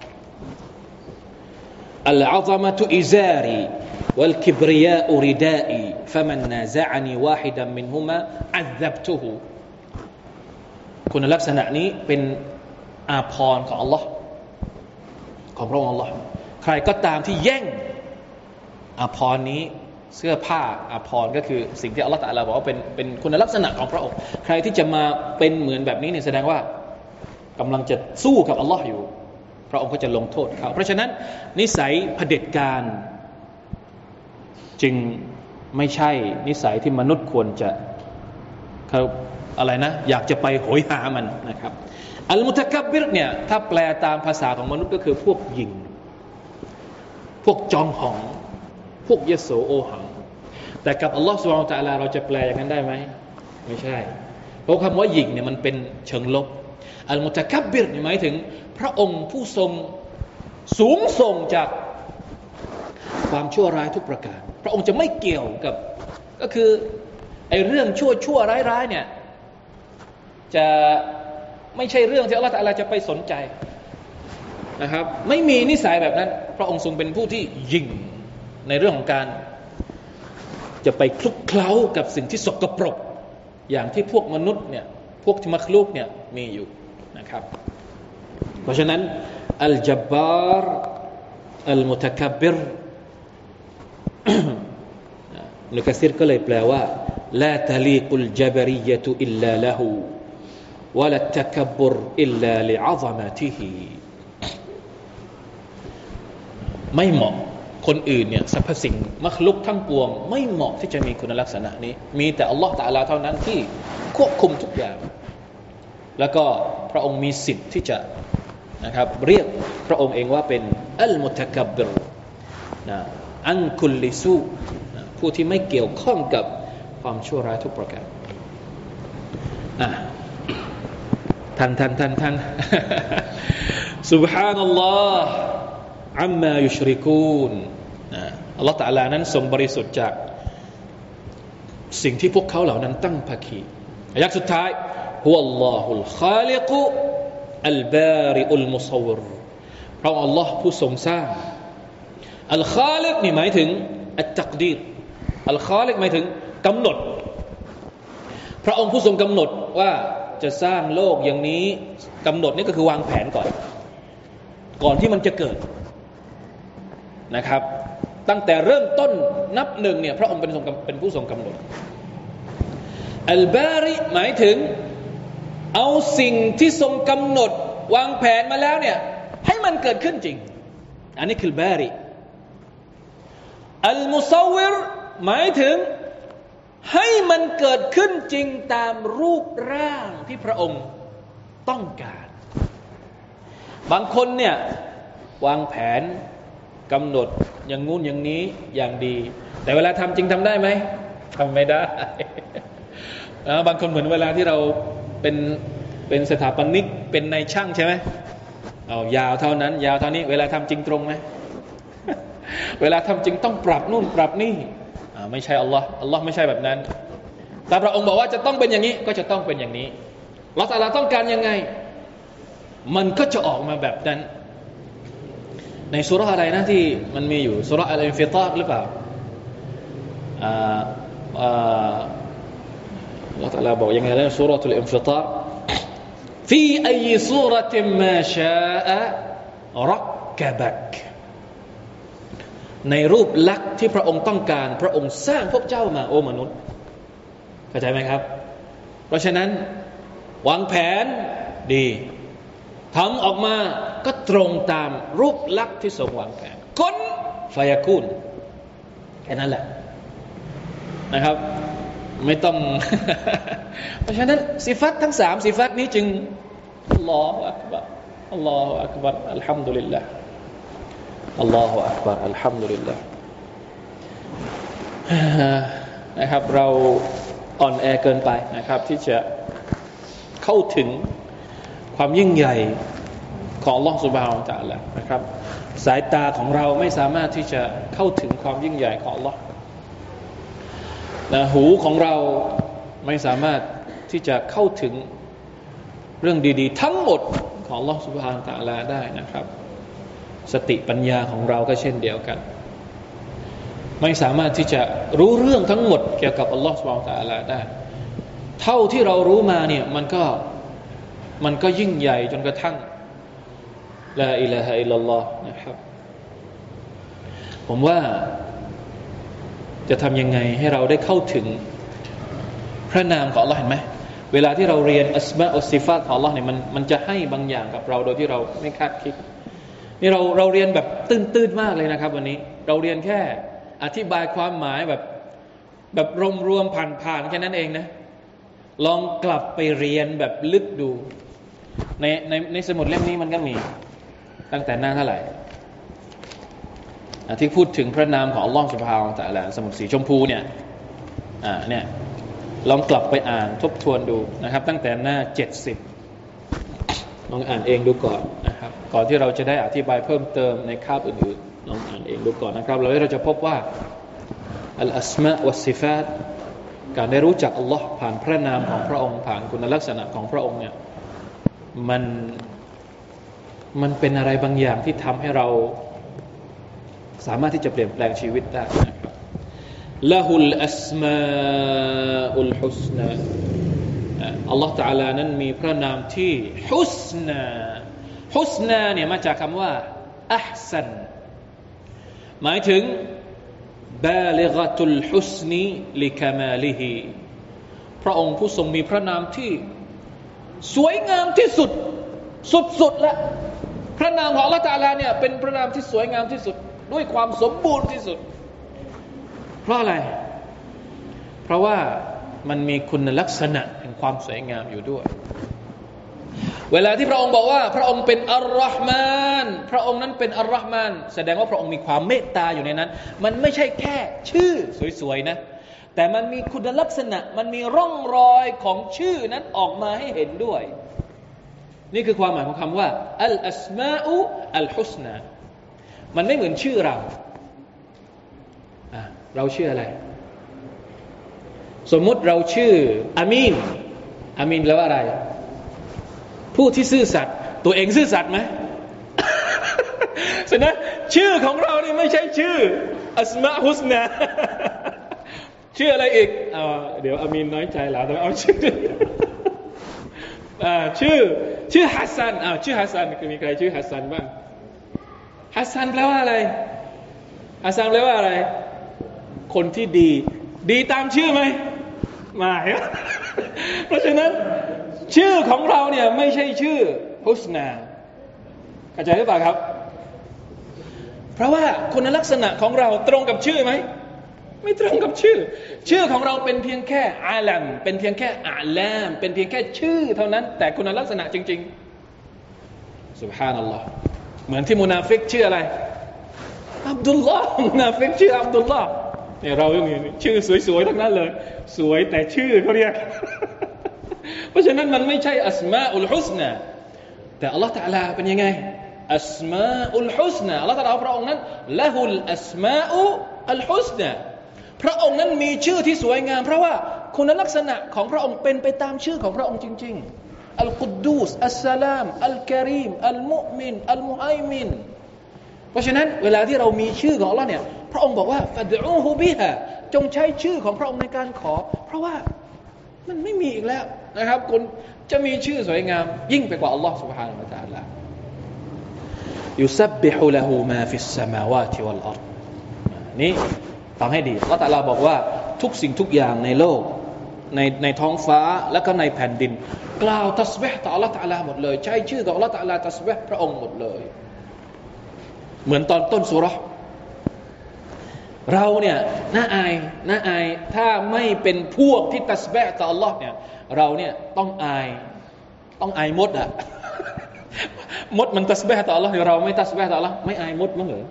อัลอะซะมะตุอิซารีวัลกิบริยาอุริดาอีฟะมันนาซะอะนีวาฮิดันมินฮุมาอัซซับตุฮุคุณลักษณะนี้เป็นอาภรณ์ของอัลลอฮ์ของพระองค์อัลลอฮ์ใครก็ตามที่แย่งอาภรณ์นี้เสื้อผ้าอาภรณ์ก็คือสิ่งที่อัลลอฮ์ตะอาลาบอกว่าเป็นคุณลักษณะของพระองค์ใครที่จะมาเป็นเหมือนแบบนี้เนี่ยแสดงว่ากำลังจะสู้กับอัลลอฮ์อยู่พระองค์ก็จะลงโทษเขาเพราะฉะนั้นนิสัยเผด็จการจึงไม่ใช่นิสัยที่มนุษย์ควรจะเขาอะไรนะอยากจะไปโหยหามันนะครับอัลมุตะกับบรเนี่ยถ้าแปลตามภาษาของมนุษย์ก็คือพวกหยิ่งพวกจองหองพวกยโสโอหังแต่กับอัลลอฮฺซุบฮานะฮูวะตะอาลาเราจะแปลอย่างนั้นได้ไหมไม่ใช่เพราะคำว่าหยิ่งเนี่ยมันเป็นเชิงลบอัลมุตะกับบirหมายถึงพระองค์ผู้ทรงสูงส่งจากความชั่วร้ายทุกประการพระองค์จะไม่เกี่ยวกับก็คือไอ้เรื่องชั่วร้ายเนี่ยจะไม่ใช่เรื่องที่อัลเลาะห์ตะอาลาจะไปสนใจนะครับไม่มีนิสัยแบบนั้นพระองค์ทรงเป็นผู้ที่ยิ่งในเรื่องของการจะไปคลุกเคล้ากับสิ่งที่สกปรกอย่างที่พวกมนุษย์เนี่ยพวกมัคลุกเนี่ยมีอยู่นะครับเพราะฉะนั้นอัลจับบาร์อัลมุตะกับบir อิบนุกะซีรก็เลยแปลว่าลาตะลีกุลจับริยะตุอิลลาละฮูวะลัตตะกับบรอิลลาลิอะซะมะติฮิไม่เหมาะคนอื่นเนี่ยสรรพสิ่งมัคลุกทั้งปวงไม่เหมาะที่จะมีคุณลักษณะนี้มีแต่อัลลอฮฺตะอาลาเท่านั้นที่ควบคุมทุกอย่างแล้วก็พระองค์มีสิทธิ์ที่จะนะครับเรียกพระองค์เองว่าเป็นอัลมุตะกับบรนะอันคุลลิซูผู้ที่ไม่เกี่ยวข้องกับความชั่วร้ายทุกประการท่านซุบฮานัลลอฮ์อัมมายุชริกูนอัลลอฮฺตะอาลานั้นทรงบริสุทธิ์จากสิ่งที่พวกเขาเหล่านั้นตั้งภาคีอายะห์สุดท้ายฮุวัลลอฮุลคาลิกุอัลบาริอุลมุศวิรพระองค์อัลลอฮ์ผู้ทรงสร้างอัลคาลิกนี่หมายถึงอัตตักดีรอัลคาลิกหมายถึงกำหนดพระองค์ผู้ทรงกำหนดว่าจะสร้างโลกอย่างนี้กำหนดนี่ก็คือวางแผนก่อนที่มันจะเกิดนะครับตั้งแต่เริ่มต้นนับหนึ่งเนี่ยพระองค์เป็นผู้ทรงกำหนดอัลบาริหมายถึงเอาสิ่งที่ทรงกำหนดวางแผนมาแล้วเนี่ยให้มันเกิดขึ้นจริงอันนี้คือบาริอัลมุศวิรหมายถึงให้มันเกิดขึ้นจริงตามรูปร่างที่พระองค์ต้องการบางคนเนี่ยวางแผนกำหนดอย่างงู้นอย่างนี้อย่างดีแต่เวลาทำจริงทำได้ไหมทำไม่ได้บางคนเหมือนเวลาที่เราเป็นสถาปนิกเป็นนายช่างใช่ไหมเอายาวเท่านั้นยาวเท่านี้เวลาทำจริงตรงไหม เวลาทำจริงต้องปรับนู่นปรับนี่ไม่ใช่อัลลอฮ์ไม่ใช่แบบนั้นแต่พระองค์บอกว่าจะต้องเป็นอย่างนี้ก็จะต้องเป็นอย่างนี้อัลเลาะห์ตะอาลาต้องการยังไงมันก็จะออกมาแบบนั้นในซูเราะห์อะไรนะที่มันมีอยู่ซูเราะห์อัลอินฟิฏาร์หรือเปล่าอัลเลาะห์ตะอาลาบอกยังไงนะซูเราะห์อัลอินฟิฏาร์ฟีอัยซูเราะติมมาชาอะรักกะบักในรูปลักษณ์ที่พระองค์ต้องการพระองค์สร้างพวกเจ้ามาโอ้มนุษย์เข้าใจไหมครับเพราะฉะนั้นวางแผนดีทำออกมาก็ตรงตามรูปลักษณ์ที่ทรงวางแผนกุนฟายากูนแค่นั้นแหละนะครับไม่ต้อง เพราะฉะนั้นสิฟัตทั้ง3สิฟัตนี้จึงอัลลอฮฺอักบัรอัลลอฮฺอักบัรอัลฮัมดุลิลลาห์อัลลอฮฺอักบัรอัลฮัมดุลิลลาห์นะครับเราอ่อนแอเกินไปนะครับที่จะเข้าถึงความยิ่งใหญ่ของอัลลอฮฺซุบฮานะฮูวะตะอาลานะครับสายตาของเราไม่สามารถที่จะเข้าถึงความยิ่งใหญ่ของอัลลอฮฺและหูของเราไม่สามารถที่จะเข้าถึงเรื่องดีๆทั้งหมดของอัลลอฮฺซุบฮานะฮูวะตะอาลาได้นะครับสติปัญญาของเราก็เช่นเดียวกันไม่สามารถที่จะรู้เรื่องทั้งหมดเกี่ยวกับอัลลอฮฺซุบฮานะฮูวะตะอาลาได้เท่าที่เรารู้มาเนี่ยมันก็ยิ่งใหญ่จนกระทั่งลาอิลาฮะอิลลัลลอฮ์นะครับผมว่าจะทำยังไงให้เราได้เข้าถึงพระนามของอัลลอฮ์เห็นไหมเวลาที่เราเรียนอัสมาอุสซิฟาตของอัลลอฮ์เนี่ยมันจะให้บางอย่างกับเราโดยที่เราไม่คาดคิดนี่เราเรียนแบบตื้นๆมากเลยนะครับวันนี้เราเรียนแค่อธิบายความหมายแบบรวมๆผ่านๆแค่นั้นเองนะลองกลับไปเรียนแบบลึกดูในสมุดเล่มนี้มันก็มีตั้งแต่หน้าเท่าไหร่ที่พูดถึงพระนามของอัลลอฮฺซุบฮานะฮูวะตะอาลาสมุดสีชมพูเนี่ยเนี่ยลองกลับไปอ่านทบทวนดูนะครับตั้งแต่หน้า70ลองอ่านเองดูก่อนนะครับก่อนที่เราจะได้อธิบายเพิ่มเติมในคาบอื่นๆลองอ่านเองดูก่อนนะครับแล้วเราจะพบว่าอัลอัสมาวัสซิฟาตการได้รู้จักอัลลอฮ์ผ่านพระนามของพระองค์ผ่านคุณลักษณะของพระองค์เนี่ยมันเป็นอะไรบางอย่างที่ทำให้เราสามารถที่จะเปลี่ยนแปลงชีวิตได้นะครับละฮุลอัสมาอุลฮุสนาอัลลอฮฺ تعالى นั้นมีพระนามที่ฮุสนาเนี่ยมาจากคำว่าอัห์ซันหมายถึงบาลิกะตุลฮุสนีลิกะมาลิฮิพระองค์ผู้ทรงมีพระนามที่สวยงามที่สุดสุดๆและพระนามของอัลลอฮฺ تعالى เนี่ยเป็นพระนามที่สวยงามที่สุดด้วยความสมบูรณ์ที่สุดเพราะอะไรเพราะว่ามันมีคุณลักษณะแห่งความสวยงามอยู่ด้วยเวลาที่พระองค์บอกว่าพระองค์เป็นอัลลอฮ์มานพระองค์นั้นเป็นอัลลอฮ์มานแสดงว่าพระองค์มีความเมตตาอยู่ในนั้นมันไม่ใช่แค่ชื่อสวยๆนะแต่มันมีคุณลักษณะมันมีร่องรอยของชื่อนั้นออกมาให้เห็นด้วยนี่คือความหมายของคำว่าอัลอัสมาอุอัลฮุสนามันไม่เหมือนชื่อเราชื่ออะไรสมมุติเราชื่ออามีนแปลว่าอะไรผู้ที่ซื่อสัตย์ตัวเองซื่อสัตย์ไหม ฉะนั้นชื่อของเรานี่ไม่ใช่ชื่ออัสมาฮุสนา ชื่ออะไรอีกเดี๋ยวอามีนน้อยใจแล้วต้องเอาชื่อ ชื่อฮัสซันชื่อฮัสซันมีใครชื่อฮัสซันบ้างฮัสซันแปลว่าอะไรฮัสซันแปลว่าอะไรคนที่ดีตามชื่อไหมไม่ เพราะฉะนั้นชื่อของเราเนี่ยไม่ใช่ชื่อฮุสนาเข้าใจหรือเปล่าครับเพราะว่าคุณลักษณะของเราตรงกับชื่อไหมไม่ตรงกับชื่อของเราเป็นเพียงแค่อาลัมเป็นเพียงแค่อาลามเป็นเพียงแค่ชื่อเท่านั้นแต่คุณลักษณะจริงๆซุบฮานัลลอฮ์เหมือนที่มุนาฟิกชื่ออะไรอับดุลลอฮ์มุนาฟิกชื่ออับดุลลอฮ์เนี่ยเราอย่างนี้ชื่อสวยๆทั้งนั้นเลยสวยแต่ชื่อเขาเรียก เพราะฉะนั้นมันไม่ใช่อัสมาอุลฮุสนาแต่อัลลอฮฺ تعالى เป็นยังไงอัสมาอุลฮุสนาอัลลอฮฺ تعالى พระองค์นั้นละฮุลอัสมาอุลฮุสนาพระองค์นั้นมีชื่อที่สวยงามเพราะว่าคุณลักษณะของพระองค์เป็นไปตามชื่อของพระองค์จริงๆอัลกุดดูสอัสสลามอัลกะรีมอัลมุอ์มินอัลมุฮัยมินเพราะฉะนั้นเวลาที่เรามีชื่อของอัลลอฮ์เนี่ยพระองค์บอกว่าฟัดอูฮูบิฮะจงใช้ชื่อของพระองค์ในการขอเพราะว่ามันไม่มีอีกแล้วนะครับคุณจะมีชื่อสวยงามยิ่งไปกว่าอัลลอฮ์ سبحانه และ تعالى ยุซับบิฮุละฮูมาฟิสสมาวาติวัลอัรฎนี่ฟังให้ดีอัลลอฮ์ تعالى บอกว่าทุกสิ่งทุกอย่างในโลกในท้องฟ้าและก็ในแผ่นดินกล่าวตัสบิฮ์ต่ออัลลอฮ์ تعالى หมดเลยใช้ชื่อของอัลลอฮ์ تعالى ตัสบิฮ์พระองค์หมดเลยเหมือนตอนต้นซูเราะห์เราเนี่ยน่าอายถ้าไม่เป็นพวกที่ตัสบิฮ์ต่ออัลลอฮ์เนี่ยเราเนี่ยต้องอายมดมดมันตัสบิฮ์ต่ออัลลอฮ์เราไม่ตัสบิฮ์ต่ออัลลอฮ์ไม่อายมดมั้งเหรอ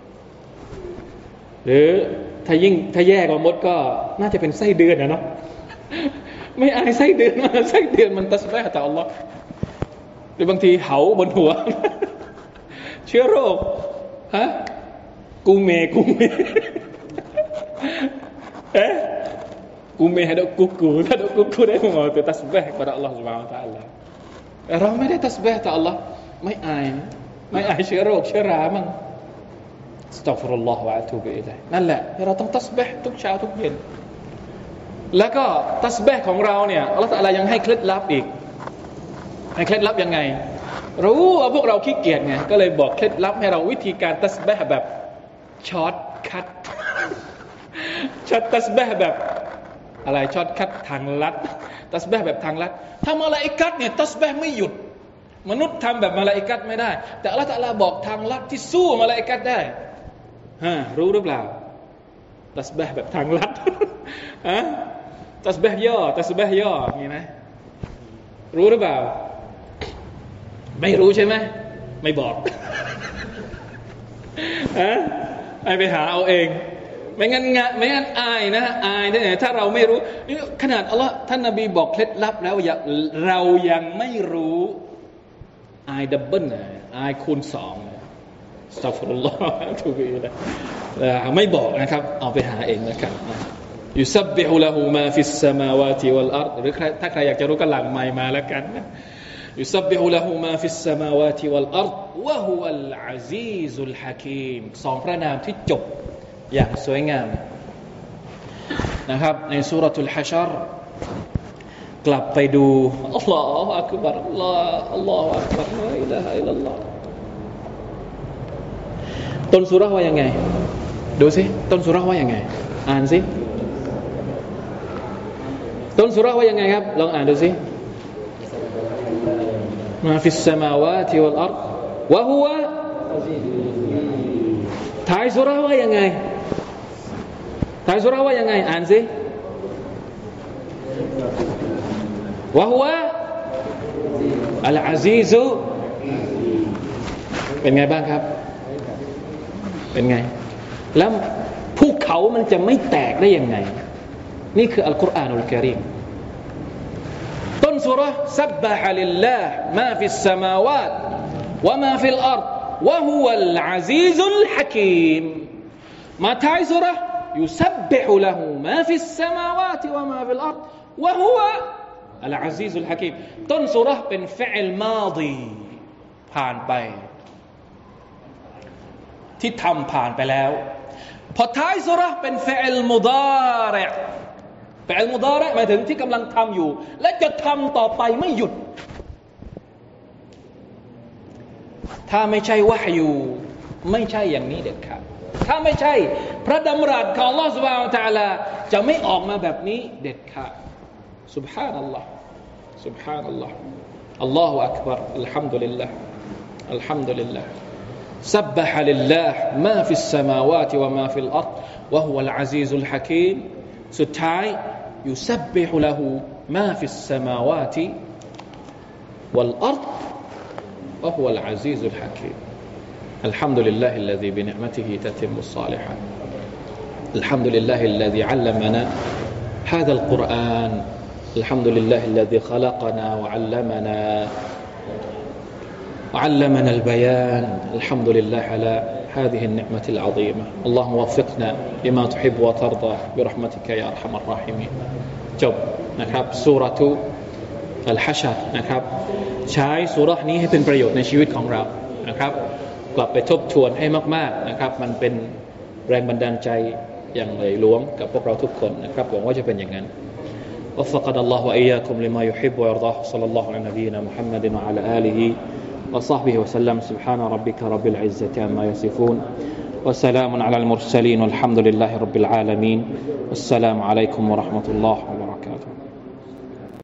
หรือถ้าแย่กว่ามดก็น่าจะเป็นไส้เดือนนะเนาะไม่อายไส้เดือนมันตัสบิฮ์ต่ออัลลอฮ์หรือบางทีเหาบนหัวเชื้อโรคกูเมกูเมให้ดอกกูถ้าดอกกูได้มาตัวตัสบิฮ์kepada Allah Subhanahu Wa Taala เราไม่ได้ตัสบิฮ์ต่อ Allah ไม่อายเชื้อโรคเชื้อรามั่งอัสตัฆฟิรุลลอฮ์วะอะตูบิอิลัยฮินั่นแหละเราต้องตัสบิฮ์ทุกเช้าทุกเย็นแล้วก็ตัสบิฮ์ของเราเนี่ยอัลเลาะห์ตะอาลายังให้เคล็ดลับอีกให้เคล็ดลับยังไงรู้ว่าพวกเราขี้เกียจไงก็เลยบอกเคล็ดลับให้เราวิธีการตัสบิฮ์แบบช็อตคัทตัสบิฮ์แบบอะไรช็อตคัททางลัดตัสบิฮ์แบบทางลัดถ้ามลาอิกัตเนี่ยตัสบิฮ์ไม่หยุดมนุษย์ทำแบบมลาอิกัตไม่ได้แต่อัลเลาะห์ตะอาลาบอกทางลัดที่สู้มลาอิกัตได้รู้หรือเปล่าตัสบิฮ์แบบทางลัดตัสบิฮ์ย่อมีไหมรู้หรือเปล่าไม่รู้ใช่ไหมไม่บอกให้ไปหาเอาเองไม่งั้นอายนะอายได้ถ้าเราไม่รู้นี่ขนาดอัลลอฮ์ท่านนบีบอกเคล็ดลับแล้วเรายังไม่รู้อายดับเบิลอายคูณ2อัสตัฆฟิรุลลอฮ์ทุบีนะไม่บอกนะครับเอาไปหาเองนะครับยุซับบิฮุละฮูมาฟิสสมาวาติวัลอัรฎ์หรือถ้าใครอยากจะรู้ก็หลั่งไมค์มาแล้วกันนะยุซับบิฮุละฮูมาฟิสสมาวาติวัลอัรฎ์วะฮุวัลอะซีซุลฮะกีม2พระนามที่จบอย่างสวยงามนะครับในซูเราะตุลฮะชรกลับไปดูอัลลอฮฺอักบัรอัลลอฮฺอักบัรลาอิลาฮะอิลลัลลอฮฺต้นซูเราะห์ว่ายังไงดูสิต้นซูเราะห์ว่ายังไงอ่านสิต้นซูเราะห์ว่ายังไงครับลองอ่านดูสิมาฟิสสมาวาติวัลอัรฎ์วะฮุวะท้ายซูเราะห์ว่ายังไงท้ายซูเราะห์ว่ายังไงอ่านสิวะฮุวะอัลอาซีซุเป็นไงบ้างครับเป็นไงแล้วภูเขามันจะไม่แตกได้ยังไงนี่คืออัลกุรอานุลกะรีมต้นซูเราะห์ซับบะฮะลิลลาฮ์มาฟิสสมาวาตวะมาฟิลอัรฎ์วะฮุวัลอะซีซุลฮะกีมมาท้ายซูเราะห์يسبح له ما في السماوات وما في الأرض وهو العزيز الحكيم ต้นซูเราะห์เป็นฟิอลมาฎีผ่านไปที่ทำผ่านไปแล้วพอท้ายซูเราะห์เป็นฟิอลมุฎาริอฟิอลมุฎาริหมายถึงที่กำลังทำอยู่และจะทำต่อไปไม่หยุดถ้าไม่ใช่วะฮยูไม่ใช่อย่างนี้เด็ดขาดถ้าไม่ใช่พระดำรัสของอัลลอฮฺ سبحانه และ تعالى จะไม่ออกมาแบบนี้เด็ดขาด سبحان الله سبحان الله الله أكبر الحمد لله الحمد لله سبح لله ما في السماوات وما في الأرض وهو العزيز الحكيم สุดท้าย يسبح له ما في السماوات والأرض وهو العزيز الحكيم الحمد لله الذي بنعمته تتم الصالحات الحمد لله الذي علمنا هذا القرآن الحمد لله الذي خلقنا وعلمنا البيان الحمد لله على هذه النعمة العظيمة اللهم وفقنا لما تحب وترضى برحمتك يا أرحم الراحمين จบนะครับซูเราะตุอัลฮะชรนะครับใช้ซูเราะห์นี้ให้เป็นประโยชน์ในชีวิตของเรานะครับกลับไปทบทวนให้มากๆนะครับมันเป็นแรงบันดาลใจอย่างใหญ่หลวงกับพวกเราทุกคนนะครับหวังว่าจะเป็นอย่างนั้น وفقنا الله وإياكم لما يحب ويرضاه صلى الله على نبينا محمد وعلى آله وصحبه وسلم سبحان ربك رب العزة عما يصفون وسلام على المرسلين والحمد لله رب العالمين والسلام عليكم ورحمة الله وبركاته